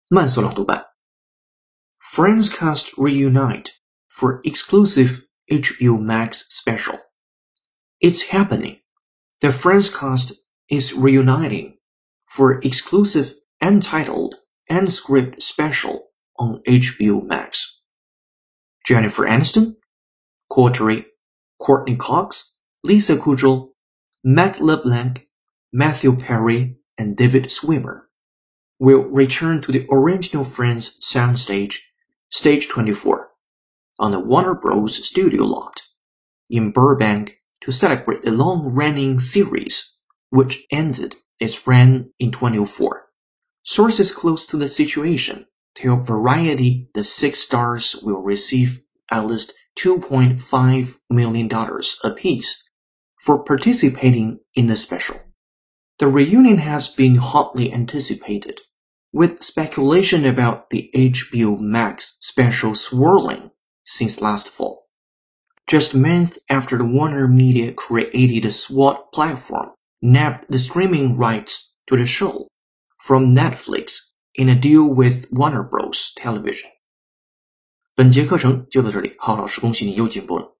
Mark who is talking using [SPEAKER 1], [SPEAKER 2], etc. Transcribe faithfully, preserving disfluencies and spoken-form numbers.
[SPEAKER 1] 慢速朗读版 Friends cast reunite for exclusive H B O Max special. It's happening. The Friends cast is reuniting for exclusive untitled and script special on H B O Max. Jennifer Aniston, Courtney, Courtney Cox, Lisa Kudrow, Matt LeBlanc, Matthew Perry, and David Schwimmer will return to the original Friends soundstage, Stage twenty-four, on the Warner Bros. Studio lot in Burbank to celebrate the long-running series, which ended its run in twenty oh four. Sources close to the situation tell Variety the six stars will receive at least two point five million dollars apiece for participating in the special. The reunion has been hotly anticipated, with speculation about the H B O Max special swirling since last fall. Just a month after the Warner Media created SWAT platform nabbed the streaming rights to the show from Netflix in a deal with Warner Bros. Television. 本节课程就到这里，浩老师恭喜你又进步了。